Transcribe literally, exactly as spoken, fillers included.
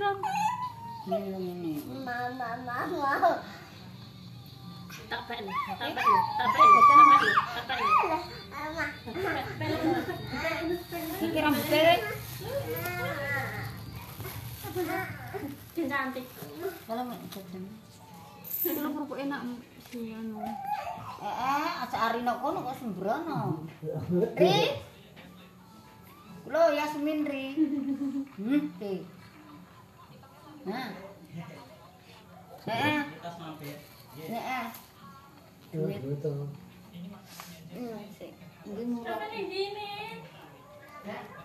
siram. Ini ini. Mama mama. Tak apa ni. Tak apa ni. Tak apa ni. Tak apa ni. Tak apa ni. Mama. Iki rambutnya. Cantik. Kalau nggak jadi. Kalau kerupuk enak sih anu. Eh eh, aja arino kono kok sembrono. Ri. Kulo Yasmin Ri. Hmm, Ri. Nah. Eh. Eh. Duit. Hmm, sih. Ini murah. Apa ni, Jimin?